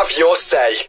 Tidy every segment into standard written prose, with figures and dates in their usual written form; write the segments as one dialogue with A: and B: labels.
A: have your say.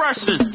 A: precious.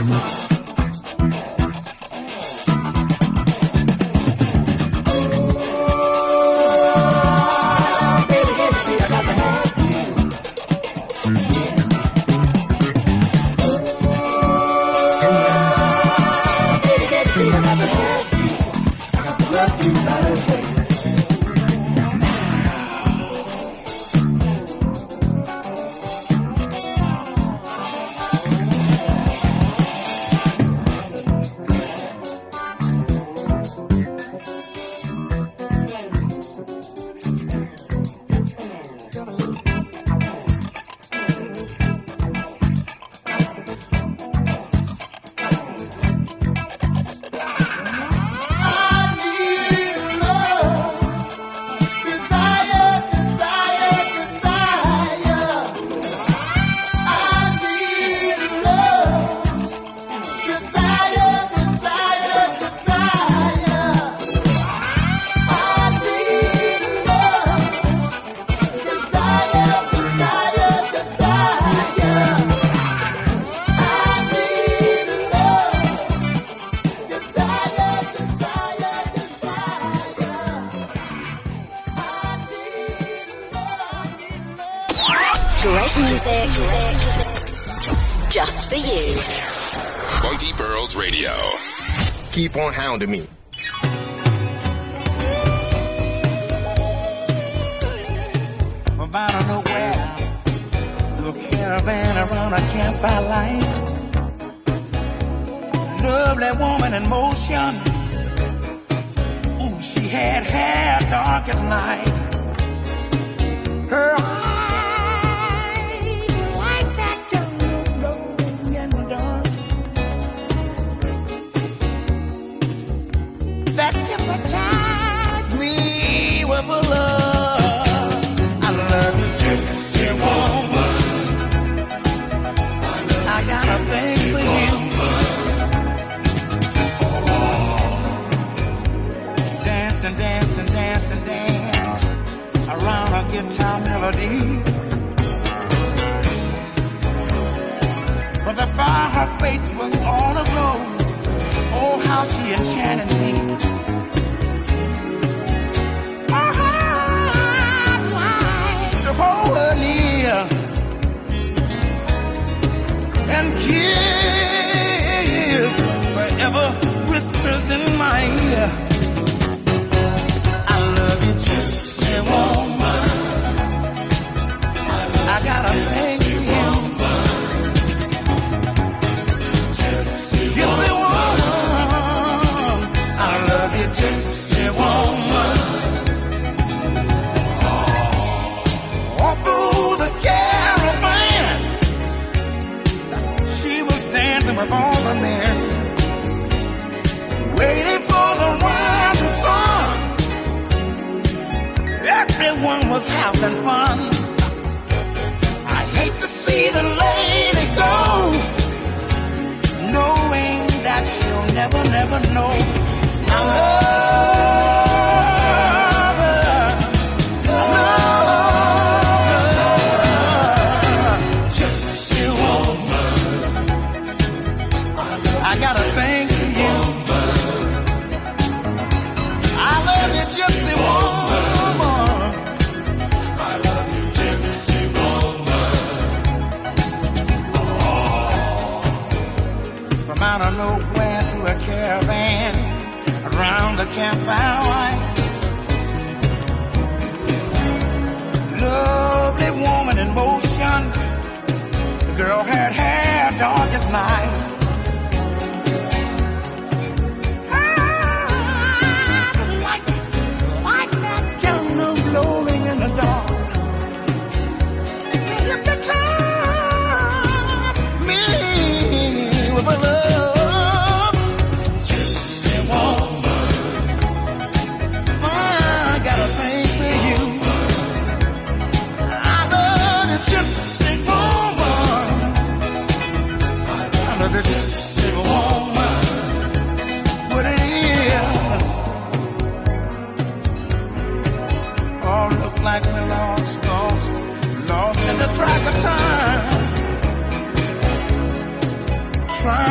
A: Great music. Just for you.
B: Funky Pearls Radio.
C: Keep on hounding me.
D: From out of nowhere, through a caravan around a campfire light. Lovely woman in motion. Ooh, she had hair dark as night. Her eyes like that jungle glowing in the dark. That hypnotized me with a love. I love you, gypsy woman. I got a thing for you. She danced and danced and danced and danced around a guitar melody. From the fire, her face was all aglow. Oh, how she enchanted me. I'd like to hold her near and kiss forever whispers in my ear. I love you, gypsy woman. I got a thing for you. Gypsy woman. I love you, gypsy woman. All through the caravan, she was dancing with all the men, waiting for the rising sun. Everyone was having fun. I hate to see the lady go, knowing that she'll never, never know I love her. I love her. Gypsy woman. I got a thing for you. I love you, gypsy woman. I love you, gypsy woman. From out of nowhere through a caravan around the campfire light. Lovely woman in motion. The girl had hair dark as night. Like that candle glowing in the dark. You can touch me with a love. Gypsy woman. I got a thing for you. I love the gypsy woman. I love the gypsy woman. What it is. Oh, look like we're lost in the track of time. Trying